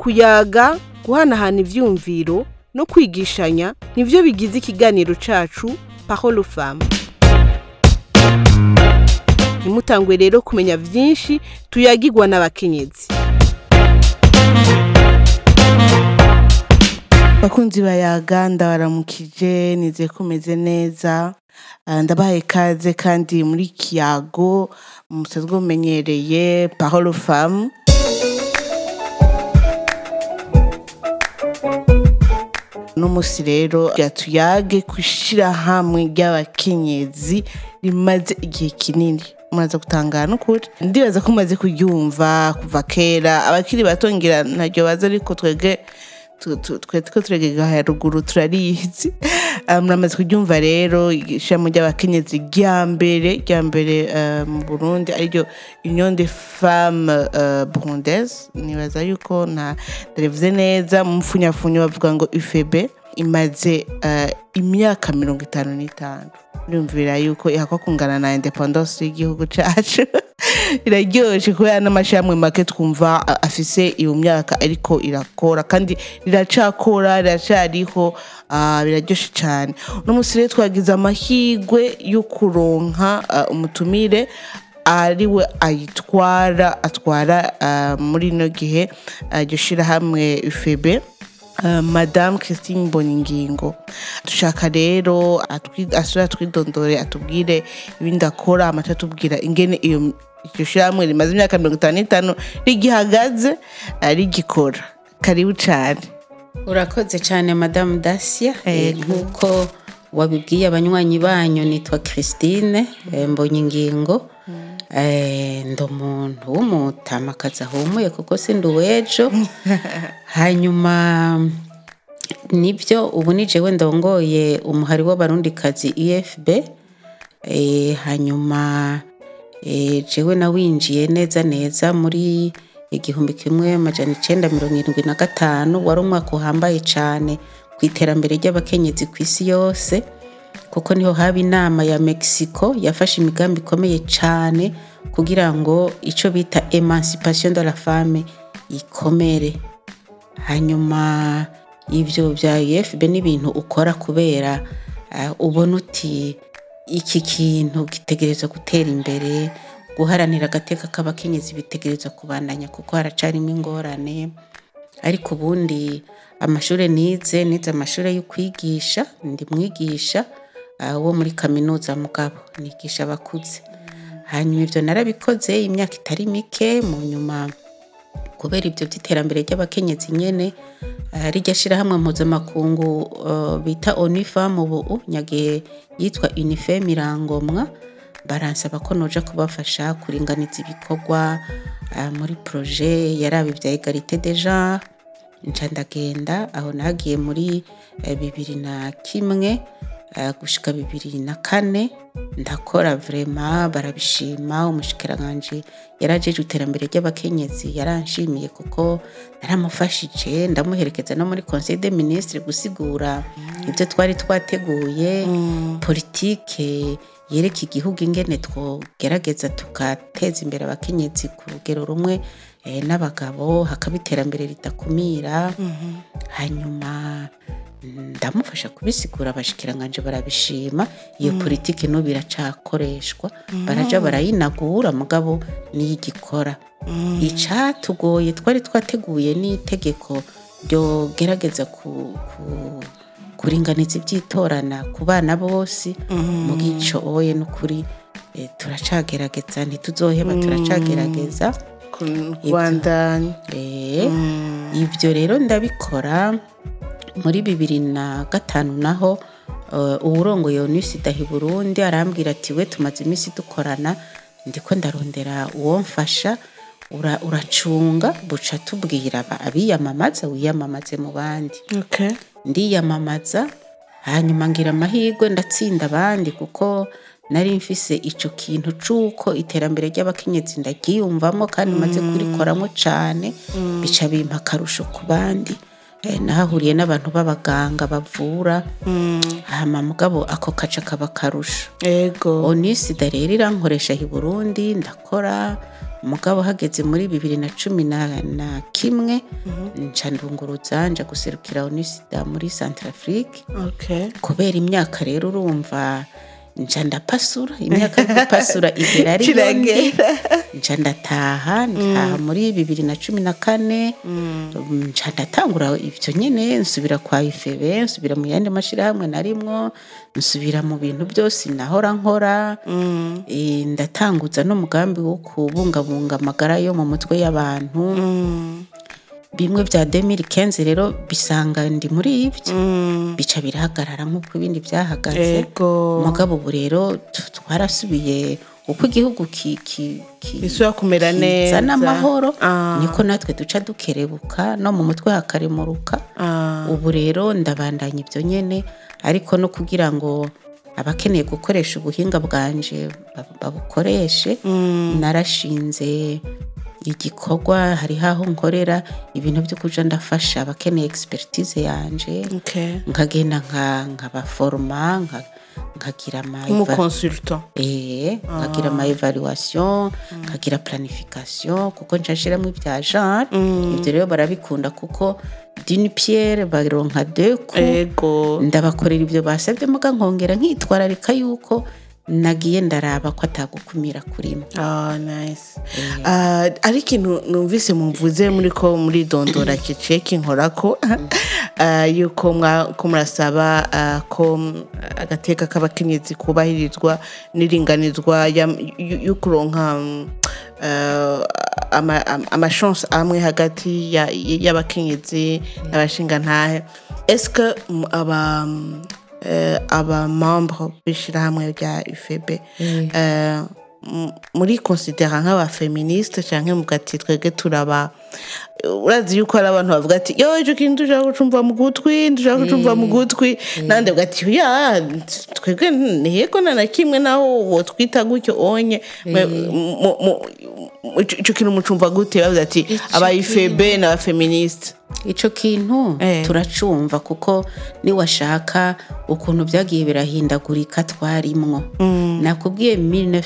kuyaga, guhanahana ivyumviro no kwigishanya nivyo bigize ikiganiro cacu Parole aux Femmes. Nimutangwe rero kumenya vyinshi tuyagirwa n'abakenyezi. Bakunzi bayaga ndabaramukije, nizeye ko meze neza. Ndabahaye ikaze kandi muri kiyago musanzwe mumenyereye Parole aux Femmes. N'umusi rero tuyage kwishira hamwe ry'abakenyezi rimaze igihe kinini. Muraza gutangana ukuri. Ndibaza ko mumaze kuryumva kuva kera, abakiri batongera ntaryo baza, ariko twebwe turegega haruguru turarizi. Muramaze kuryumva rero ishamo ry'abakenyezi rya mbere mu Burundi ariryo Union des Femmes Burundaises. Nibaza yuko ndarevuze neza mu mfunyafunyo bavuga ngo UFB imaze imyaka 55. Ndumvira yuko ihakwa kungana na independence y'igihugu cacu. Iraryoshe kubera n'amashyamwe make twumva afise iyo myaka ariko irakora kandi riracakora, riracariho, biraryoshe cyane. Uno musi rero twagize amahirwe yo kuronka umutumire ariwe atwara muri no gihe iryo shirahamwe UFB, Madame Christine Mbonyingingo. Dushaka rero asura twidondore, atubwire ibindi akora, amaca atubwira ingene iryo shirahamwe rimaze imyaka 55 rigihagaze rigikora. Karibu cyane. Urakoze cyane Madame Dacia. Nkuko wabibwiye abanywanyi banyu, nitwa Christine Mbonyingingo. Ndo muntu w'umutamakazi ahumuye kuko sindi uwejo. Hanyuma nibyo ubu ni jewe ndongoye umuhari w'abarundikazi UFB. Hanyuma jewe nawinjiye neza muri 1975. wari umwaka uhambaye cyane ku iterambere ry'abakenyezi ku isi yose, kuko niho haba inama ya Mexico yafashe imigambi ikomeye cyane kugira ngo ico bita emancipation de la femme ikomere. Hanyuma ivyo bya UFB n'ibintu ukora kubera ubona uti iki kintu gitegerezwa gutera imbere, guharanira agateka k'abakenyezi bitegerezwa kubandanya kuko haracarimo ingorane. Ariko ubundi amashure nize amashure yo kwigisha, ndi mwigisha wo muri kaminuza mugabo nigisha abakuze. Hanyuma ivyo narabikoze imyaka itari mike. Mu nyuma kubera ibyo by'iterambere ry'abakenyezi nyene rijya shira hamwe mpuzamakungu bita ONU Femmes ubu nyagiye yitwa UNIFEM irangomwa, baransaba ko noja kubafasha kuringaniza ibikorwa muri projet yarabe bya Egalite des Genres. Nca ndagenda aho nagiye muri 2001 gushika 2004 ndakora vraiment barabishima. Umushikiranganje yarajeje iterambere ry'abakenyezi yaranshimiye kuko naramufashije, ndamuherekeza no muri Conseil des Ministres gusigura ibyo twari twateguye, politike yereka igihugu ingene twogerageza tukateza imbere abakenyezi ku rugero rumwe n'abagabo, hakaba iterambere ritakumira. Hanyuma ndamufasha kubisigura, abashikiranganje barabishima. Iyo politike no biracakoreshwa, baraja barayinagura mugabo niyigikora. Icatugoye twari twateguye n'itegeko ryo gerageza kuringaniza ibyitorana ku bana bose. Mu gico oye n'ukuri turacagerageza, ntituzoheba, turacagerageza Rwanda. Ivyo rero ndabikora. Muri 2005 naho uburongoye ONU Sida hi Burundi arambwira ati we tumaze imisi dukorana, ndiko ndarondera uwo mfasha, uracunga buca tubwira abiyamamaza wiyamamaze mu bandi. Okay. Ndiyamamaza, hanyuma ngira amahirwe ndatsinda abandi kuko nari mfise ico kintu cuko iterambere ry'abakenyezi ndagiyumvamo kandi maze kurikoramo cyane, bica bimpa karusho ku bandi. Nahahuriye n'abantu b'abaganga bavura, hama mugabo ako kaca kaba karusho. Ego. ONU Sida rero irankoresha hi Burundi, ndakora mugabo hageze muri 2011 nca ndunguruza nja guserukira UNISIDA muri Centrafrique. Okay. Kubera imyaka rero urumva nca ndapasura imyaka yo gupasura igera ari yonge nca ndataha muri 2014 nca ndatangura ivyo nyene nsubira kwa IFB nsubira mu yandi mashirahamwe narimwo nsubira mu bintu byose nahora nkora ndatanguza no mugambi wo kubungabunga amagara yo mu mutwe y'abantu bimwe bya 2015 rero bisanga ndi muri ivyo bica birahagarara nk'uko ibindi byahagaze mugabo ubu rero twarasubiye uko igihugu isura kumera neza n'amahoro niko natwe duca dukerebuka no mu mutwe hakaremuruka ubu rero ndabandanya ibyo nyene ariko no kugira ngo abakeneye gukoresha ubuhinga bwanje babukoreshe narashinze igikorwa hari haho nkorera ibintu byo kuja ndafasha abakeneye expertise yanje nkagenda nkabaforma nkagira consultant nkagira ama evaluation nkagira planification kuko nshashiramo ibya genre ibyo rero barabikunda kuko d'une pierre baronka deux coups ndabakorera ibyo basabye muga nkongera nkitwararika yuko nagiye ndaraba ko atagukumira kurimo. Nice. Ari ikintu numvise mumvuze muri dondora kiceki nkorako yuko murasaba ko agateka k'abakenyezi kubahirizwa n'iringanizwa y'ukuronka amachance amwe hagati y'abakenyezi n'abashingantahe. Est-ce que aba membre b'ishirahamwe rya UFB muri considera nk'aba feministe canke mugati twege turaba urazi yuko ari abantu bavuga ati yo ico kintu dushaka gucumva mu gutwi nande bugati ya twege ntiyeko na kimwe naho wo twita gutyo onye ico kintu mucumva gute bavuze ati aba UFB n'aba feministe. Ico kintu turacumva kuko ni washaka ukuntu byagiye birahindagurika twarimwo nakubwiye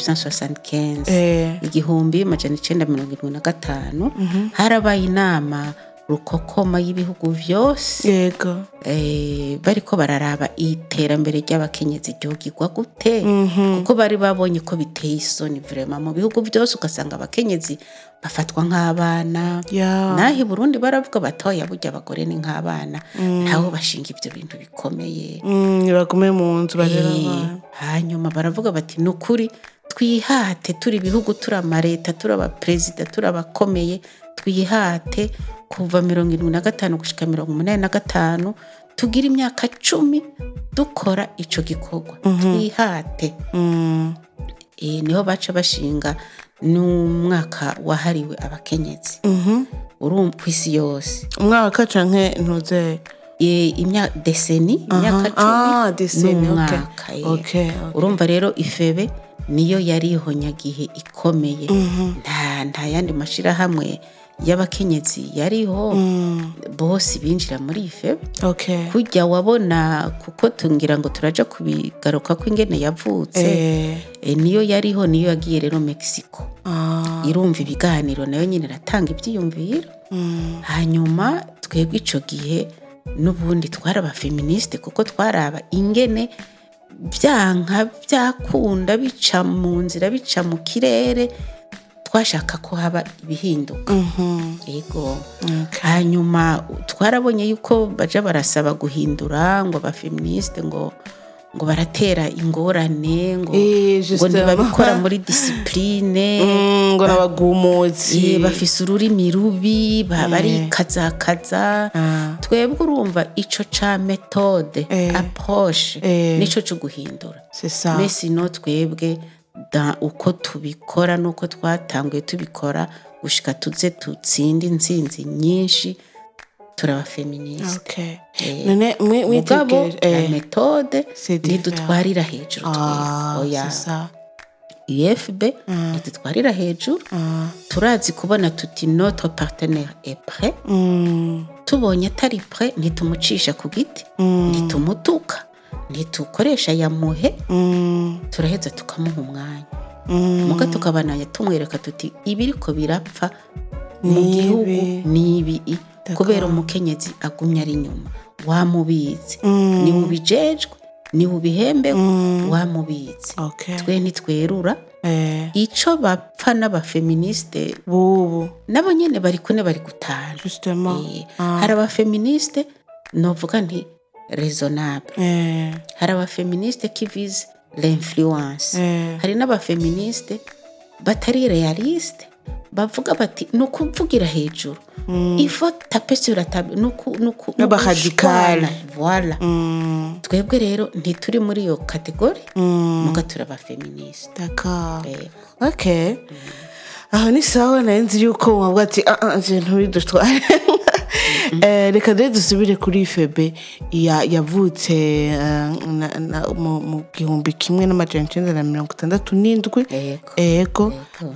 1975 igihumbi majana 1975 harabaye inama rukokoma y'ibihugu vyose bariko bararaba iterambere ry'abakenyezi ryogirwa gute kuko bari babonye ko biteye isoni vraiment mu bihugu byose ugasanga abakenyezi bafatwa nk'abana nahi Burundi baravuga batoya burya abagore ni nk'abana ntaho bashinga ibyo bintu bikomeye bagume mu nzu barera hanyuma baravuga bati nukuri twihate turi ibihugu turi amareta turi abaperezida turi abakomeye twihate kuva 75 gushika 85 tugira imyaka 10 dukora ico gikorwa twihate niho baca bashinga n'umwaka wahariwe abakenyezi urumva kwisi yose umwaka canke ntuze imyaka deseni imyaka 10 n'umwaka urumva rero ifebe niyo yariho nyagihe ikomeye nta yandi mashirahamwe y'abakenyezi yariho bose binjira muri ifebe kujya wabona kuko tungira ngo turaja kubigaruka ko ingene yavutse niyo yariho niyo yagiye rero Mexico irumva ibiganiro nayo nyine ratanga ibyiyumviro hanyuma twebwe ico gihe n'ubundi twaraba feministe kuko twaraba ingene byanka byakunda bica mu nzira bica mu kirere twashaka ko haba ibihinduka yego hanyuma twarabonye yuko baje barasaba guhindura ngo ba feministe ngo baratera ingorane ngo ntibabikora muri discipline ngo nabagumuzi bafise ururimi rubi bari kazakaza twebwe urumva ico ca méthode approche nico cyo guhindura mais sinon twebwe uko tubikora nuko twatanguye tubikora gushika tuze tutsinde intsinzi nyinshi turaba feministe none mugabo la méthode nidutwarira hejuru oya UFB nidutwarira hejuru turazi kubona tuti notre partenaire est prêt tubonye atari prêt nitumucisha ku giti nitumutuka ntitukoresha yamuhe turaheza tukamuha umwanya muga tukabananya tumwereka tuti ibiriko birapfa mu gihugu nibi kubera umukenyezi agumya ari inyuma wamubizi ni ubijejwe ni ubihembe wamubizi twe ntitwerura ico bapfa n'abafeministe bubu nabo nyene bari kune bari gutana hari abafeministe novuga nti raisonnable hari abafeministe qui vise l'influence hari n'abafeministe batari realiste bavuga bati nukuvugira hejuru il faut taper sur la table nuku radical voilà twebwe rero ntituri muri iyo category muga turaba feministe d'accord okay aho ni sawa nanzi yuko wabwa ati ibintu bidutwara reka rero dusubire kuri Febe yavutse mu 1967 ego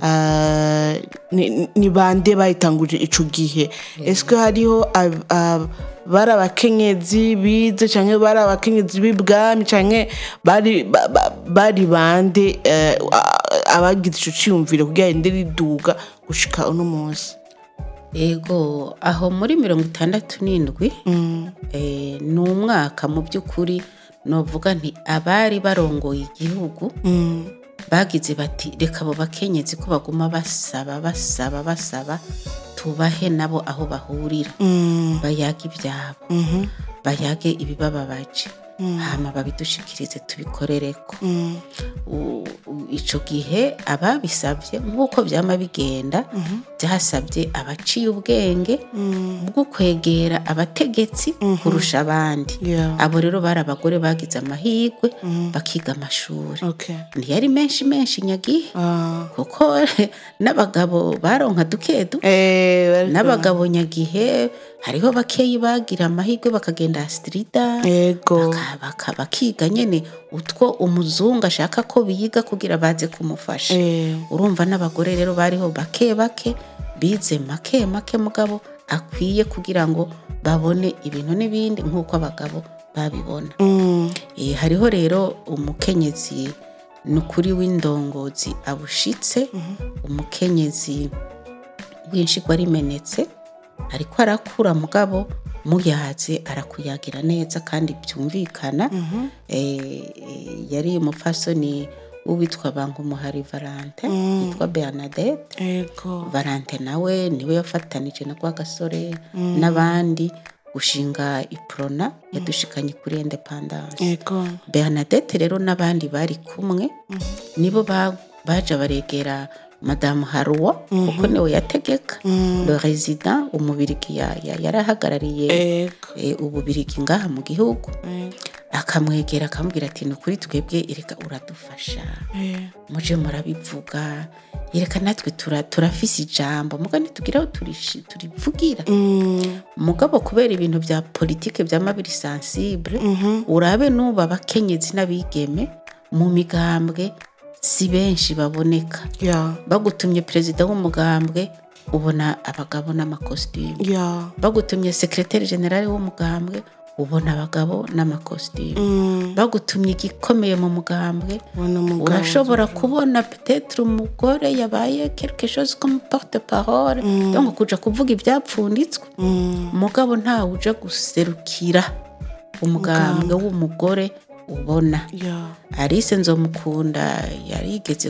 ni bande bayitanguje ico gihe eske hariho bari abakenyezi bize canke bari abakenyezi b'ibwami canke bari bande abagize ico ciyumvire kugira inde riduga gushika uno munsi ego aho muri 67 ni umwaka mu by'ukuri novuga nti abari barongoye igihugu bagize bati reka abo bakenyezi ko baguma basaba tubahe nabo aho bahurira bayage ibyabo bayage ibibababaje hama babidushikirize tubikorereko ico gihe ababisabye nk'uko byama bigenda byasabye abaciye ubwenge bwo kwegera abategetsi kurusha abandi abo rero bari abagore bagize amahirwe bakiga amashuri ntiyari menshi nyagihe kuko n'abagabo baronka dukedu n'abagabo nyagihe hariho bakeyi bagira amahirwe bakagenda astrida bakiga nyene utwo umuzungu ashaka ko biga kugira baze kumufasha urumva n'abagore rero bariho bake bize make mugabo akwiye kugira ngo babone ibintu n'ibindi nk'uko abagabo babibona hariho rero umukenyezi nukuri w'indongozi abushitse umukenyezi w'inshigwa rimenetse ariko arakura mugabo muyaze arakuyagira neza kandi byumvikana yari umufasoni uwitwa Bankumuhari Valente yitwa Bernadette Valente nawe niwe yafatanije na Rwagasore n'abandi gushinga iprona yadushikanye kuri independence Bernadette rero n'abandi bari kumwe nibo baje baregera Madame Haruwa kuko niwe yategeka le résident umubirigi yarahagarariye ububirigi ngaha mu gihugu akamwegera akamubwira ati nukuri twebwe ireka uradufasha muje murabivuga ireka natwe turafise ijambo muga ntitugiraho turivugira mugabo kubera ibintu bya politique by'amabiri sensible urabe nuba abakenyezi n'abigeme mu migambwe si benshi baboneka bagutumye perezida w'umugambwe ubona abagabo n'amakositimu bagutumye secrétaire général w'umugambwe ubona abagabo n'amakositimu bagutumye igikomeye mu mugambwe urashobora kubona peut-être umugore yabaye quelque chose comme porte-parole donc kuja kuvuga ibyapfunditswe mugabo nta uje guserukira umugambwe w'umugore ubona Alice Nzomukunda yarigeze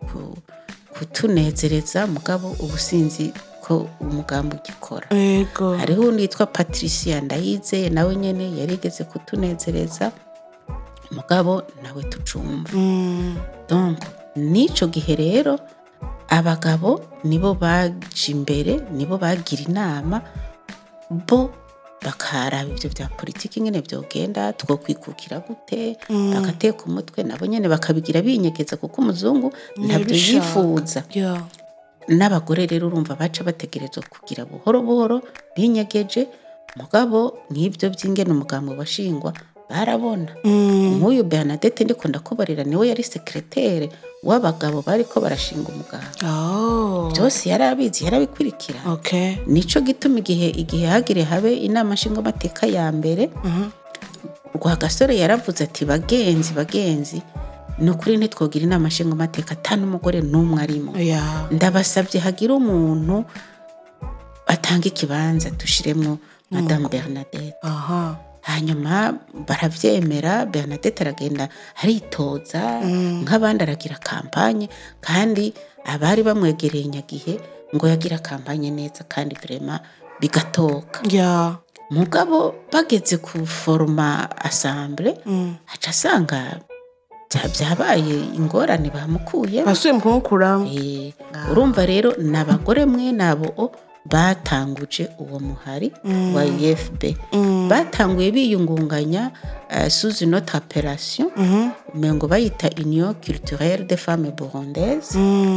kutunezereza mugabo ubusinzi ko umugambo ugikora hariho undi yitwa Patricia Ndayize nawe nyene yarigeze kutunezereza mugabo nawe tucumva donc nico gihe rero abagabo nibo baje imbere nibo bagira inama bo bakaraba ibyo bya politiki nyene byogenda two kwikukira gute bakateka umutwe nabo nyene bakabigira binyegeza kuko umuzungu ntabyo yifuza n'abagore rero urumva baca bategerezwa kugira buhoro binyegeje mugabo nk'ibyo by'ingene umugambo washingwa barabona nk'uyu Bernadette ndiko ndakubarira niwe yari secrétaire w'abagabo bariko barashinga umugambo byose yarabizi yarabikurikira nico gituma igihe hagire habe inama nshinga amateka ya mbere Rwagasore yaravuze ati bagenzi ni ukuri ntitwogira inama nshingamateka ata n'umugore n'umwe arimo. Yeah. Ndabasabye hagira umuntu atanga ikibanza dushiremwo Madame Bernadette. Aha. Hanyuma baravyemera, Bernadette aragenda aritoza nk'abandi aragira kampanye, kandi abari bamwegereye nyagihe ngo yagira kampanye neza kandi vraiment bigatoka. Yeah. Mugabo bageze ku forma assemble aca asanga byabaye ingorane bamukuye. Basuye mukumukuraho. Urumva rero n'abagore mwe nabo batanguje uwo muhari wa IFB. Batanguye biyungunganya sous une autre appellation, umengo bayita Union culturelle des femmes burundaises.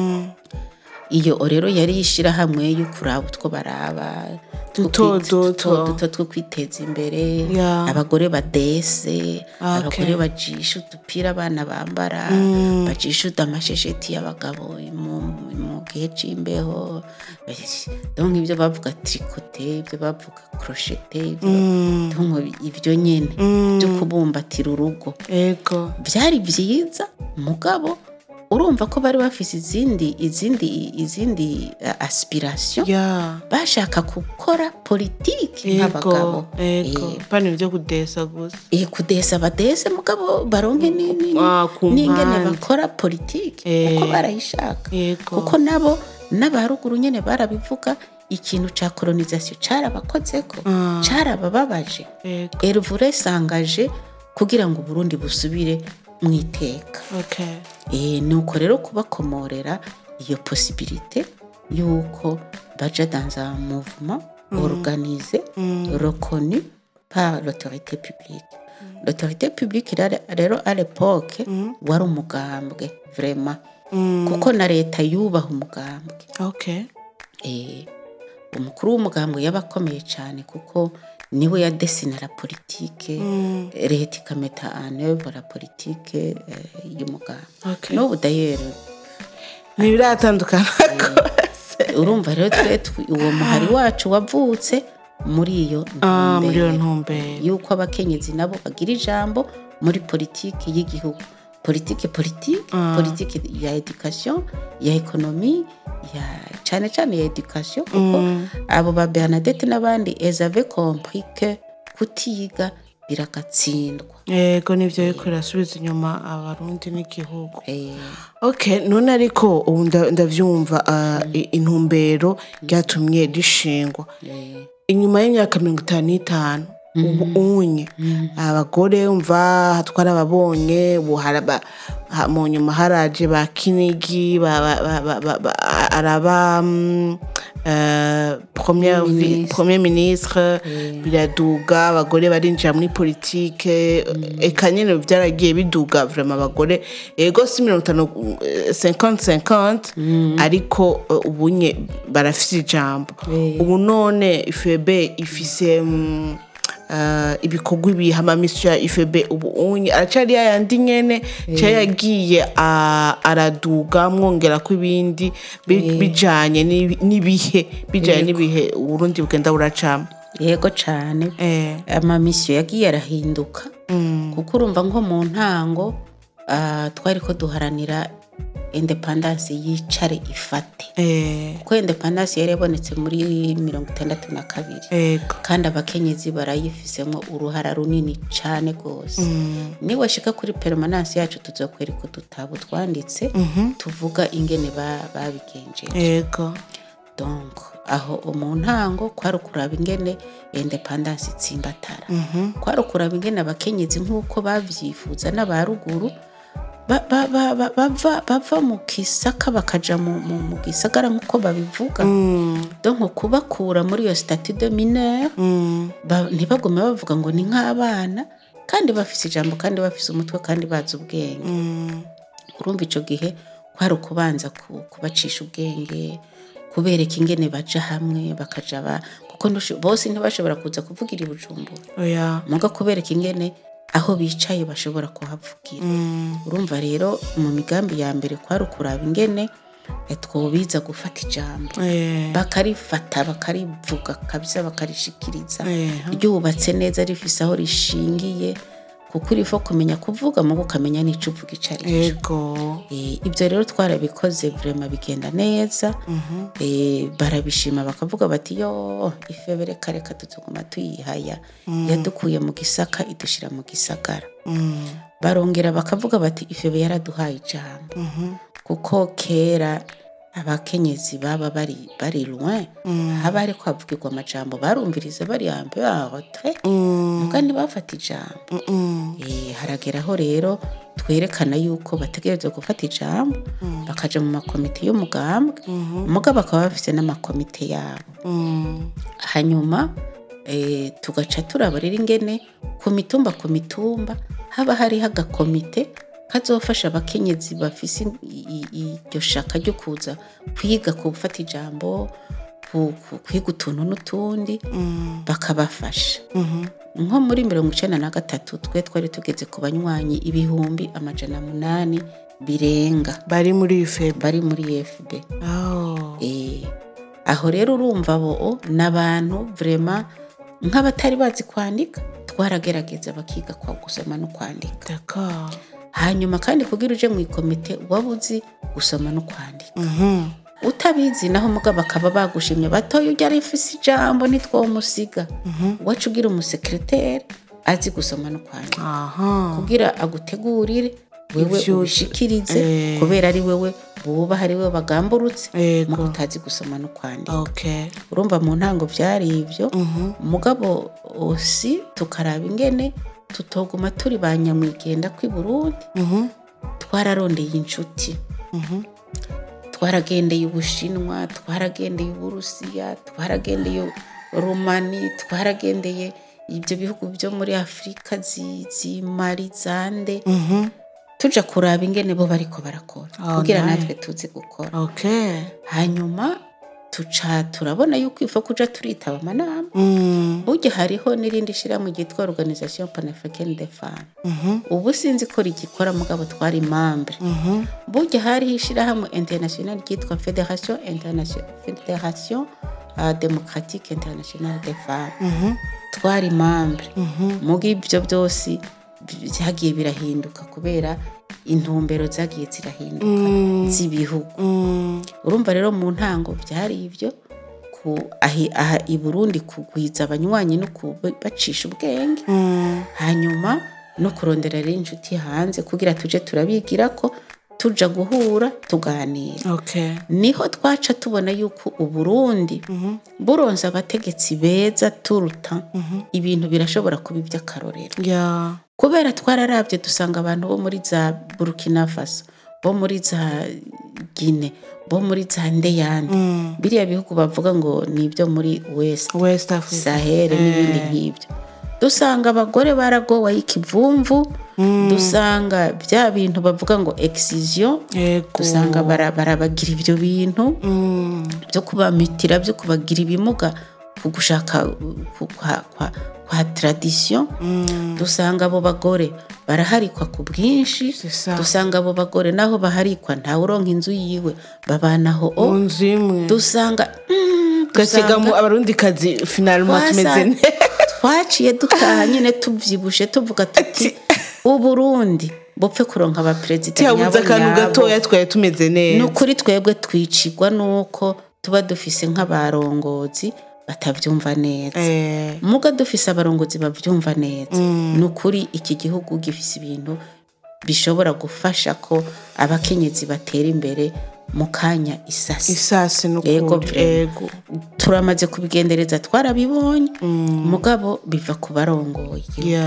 Iyo rero yari yishira hamwe yo kuraba utwo baraba duto two kwiteza imbere. Abagore badese, abagore bajisha udupira abana bambara, bajisha udamashesheti y'abagabo mu gihe c'imbeho. Donc ibyo bavuga tricoter, ibyo bavuga crocheter, ibyo nyene byo kubumbatira urugo. Ego. Byari byiza mugabo urumva ko bari bafise izindi aspiration. Bashaka gukora politiki nk'abagabo. Pani byo kudesa gusa. Kudesa badese mugabo baronke n'ingene bakora politiki uko barayishaka. Kuko nabo n'abaruguru nyene barabivuga ikintu ca colonisation carabakozeko, carabababaje. Elle voulait s'engager kugira ngo Burundi busubire mwiteka. Nuko rero kubakomorera iyo possibilité yuko baja dans un mouvement organisé, reconnu par l'autorité publique. L'autorité publique rero à l'époque wari umugambwe vraiment, kuko na leta yubaha umugambwe. Umukuru w'umugambwe yabakomeye cyane kuko niwe yadesina la politique, leta ikameta en œuvre la politique y'umugambwe. N'ubu d'ailleurs ntibiratandukana rwose. Urumva rero uwo muhari wacu wavutse muri iyo ntumbero yuko abakenyezi nabo bagira ijambo muri politiki y'igihugu. Politiki ya education, ya economie, ya cyane ya education, kuko abo ba Bernadette n'abandi elles avaient compris que kutiga biragatsindwa. Yego nivyo yuko irasubiza inyuma abarundi n'igihugu. None ariko ubu ndavyumva intumbero ryatumye rishingwa inyuma y'imyaka 55. Unye abagore umva twarababonye mu nyuma haraje ba Kinigi araba premier ministre biraduga, abagore barinjira muri politique. Eka nyene byaragiye biduga vraiment abagore. Ego si 50-50 ariko ubunye barafite ijambo. Ubu none IFB ifise ibikorwa ibihama misyo ya IFB ubu unye aracari yandi nyene cyayagiye araduga mwongera ko ibindi bijanye n'ibihe Burundi bugenda buracama. Yego cyane ama misyo yagiye arahinduka kuko urumva nko mu ntango twari ko duharanira independence yicare ifate. Kuko independence yari yabonetse muri 62 kandi abakenyezi barayifisemo uruhara runini cyane gose. Ni washika kuri permanence yacu tuzokwereka udutabo twanditse tuvuga ingene babigenjeje. Donc aho mu ntango kwari kuraba ingene independence itsimbatara, kwari kuraba ingene abakenyezi nkuko bavyifuza n'abaruguru bava mu Kisaka bakaja mu Gisagara nkuko babivuga. Donc kubakura muri iyo statut de mineur, ntibagume bavuga ngo ni nk'abana kandi bafise ijambo kandi bafise umutwe kandi bazi ubwenge. Urumva ico gihe kwari ukubanza kubacisha ubwenge, kubereka ingene baja hamwe bakaja kuko bose ntibashobora kuza kuvugira i Bujumbura. Muga kubereka ingene aho bicaye bashobora kuhavugira. Urumva rero mu migambi ya mbere kwari ukuraba ingene twobiza gufata ijambo, bakarifata bakarivuga kabisa bakarishikiriza ryubatse neza rifise aho rishingiye kuko urifo kumenya kuvuga mu ukamenya n'ico uvuga ico ari cyo. Yego. Ibyo rero twarabikoze vraiment bigenda neza. Barabishima bakavuga bati yo ifebere kareka tutuguma tuyihaya yadukuye mu gisaka idushira mu gisagara. Barongera bakavuga bati ifebe yaraduhaye ijambo kuko kera abakenyezi baba bari loin haba ariko havugirwa amajambo barumviriza bari ambe bahotre muga ntibafata ijambo. Harageraho rero twerekana yuko bategerezwa gufata ijambo bakaja mu makomite y'umugambwe muga bakaba bafise n'amakomite yabo. Hanyuma tugaca turabarira ingene ku mitumba haba hari agakomite kazofasha abakenyezi bafise iryo shaka ryo kuza kwiga ku gufata ijambo kwiga utuntu n'utundi bakabafasha. Nko muri 1993 twari tugeze ku banywanyi 800 birenga bari muri FB. Aho rero urumva bo n'abantu vraiment nk'abatari bazi kwandika twaragerageza bakiga kwa gusoma no kwandika. D'accord. Hanyuma kandi kugira uje mu ikomite wabuzi gusoma no kwandika. Utabizi naho mugabo bakaba bagushimye batoye ujya rifise ijambo nitwomusiga. Wacu ugira umusekreteri azi gusoma no kwandika. Kugira agutegurire wewe ubishikirize kubera ari wewe buba hari wewe bagamburutse mu kutazi gusoma no kwandika. Urumva mu ntango byari ivyo mugabo osi tukaraba ingene tutoguma turi banyamwigenda kwi Burundi. Twararondeye inshuti. Twaragendeye Ubushinwa, twaragendeye Uburusiya, twaragendeye Romani, twaragendeye ibyo bihugu byo muri Afrika Mali Zande. Tuja kuraba ingene bo bariko barakora kugira natwe tuzi gukora. Hanyuma turabona yuko ifo kuja turitaba amanama. Burya hariho n'irindi shira mu gitwa Organisation Panafricaine des Femmes. Ubu sinzi ko rigikora mugabo twari membre. Burya hari ishira hamwe international gitwa Fédération Démocratique Internationale des Femmes. Twari membre. Mugi ibyo byose byagiye birahinduka kubera intumbero zagiye zirahinduka z'ibihugu. Urumva rero mu ntango byari ivyo aha i Burundi kugwiza abanywanyi no kubacisha ubwenge. Hanyuma no kurondera rero inshuti hanze kugira tuje turabigira ko tuja guhura tuganira. Niho twaca tubona yuko Uburundi buronza abategetsi beza turuta ibintu birashobora kuba iby'akarorero. Kubera twararavye dusanga abantu bo muri za Burkina Faso, bo muri za Guinea, bo muri za Ndeyane, biriya bihugu bavuga ngo nibyo muri West Africa, Sahel n'ibindi nk'ibyo. Dusanga abagore baragowe ikivumvu, dusanga bya bintu bavuga ngo excision, dusanga barabagira ibyo bintu byo kubamitira, byo kubagira ibimuga kugushaka kwa tradition. Dusanga abo bagore baraharikwa ku bwinshi. Dusanga abo bagore naho baharikwa nta uronka inzu yiwe babanaho nzimwe. Dusanga gasigamo abarundi kazi finalement tumeze twaciye dutaha nyine tuvyibushe tuvuga tuti Uburundi bopfe kuronka aba president yabuze akantu gatoya twaye tumeze neza. Nukuri twebwe twicigwa nuko tuba dufise nk'abarongozi batavyumva neza. Muga dufise abarongozi bavyumva neza. Nukuri iki gihugu gifise ibintu bishobora gufasha ko abakenyezi batera imbere mu kanya isasi n'ukuri. Turamaze kubigendereza twarabibonye mugabo biva ku barongoye.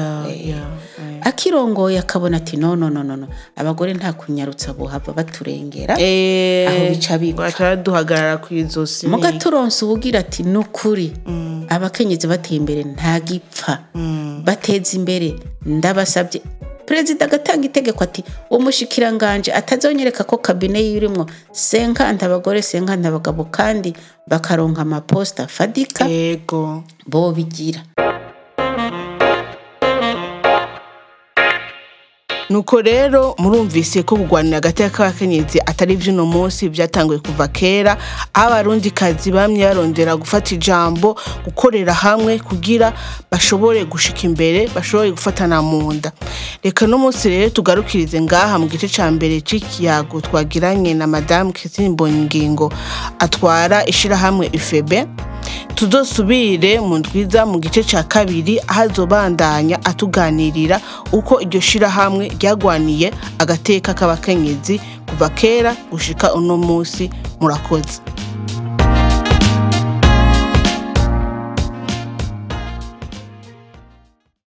Akirongoye akabona ati no abagore nta kunyarutsa bohava baturengera aho bica bipfa duhagarara kwizosi. Muga turonse ubugira ati nukuri abakenyezi bateye imbere nta gipfa bateza imbere. Ndabasabye Perezida agatanga itegeko ati umushikiranganje atazonyereka ko kabine yirimwo 50 abagore 50 abagabo kandi bakaronka amaposta fadika bo bigira. nuko rero murumvise ko kugwanira agateka k'abakenyezi atari vy'uno munsi, vyatanguye kuva kera, aho abarundikazi bamye barondera gufata ijambo, gukorera hamwe kugira bashobore gushika imbere, bashobore gufatana mu nda. Reka no munsi rero tugarukirize ngaha mu gice ca mbere c'ikiyago twagiranye na Madame Christine Mbonyingingo atwara ishirahamwe UFEB. Tuzosubire mu ndwiza mu gice ca kabiri ahazobandanya atuganirira uko iryo shirahamwe ryagwaniye agateka k'abakenyezi kuva kera gushika uno munsi. Murakoze.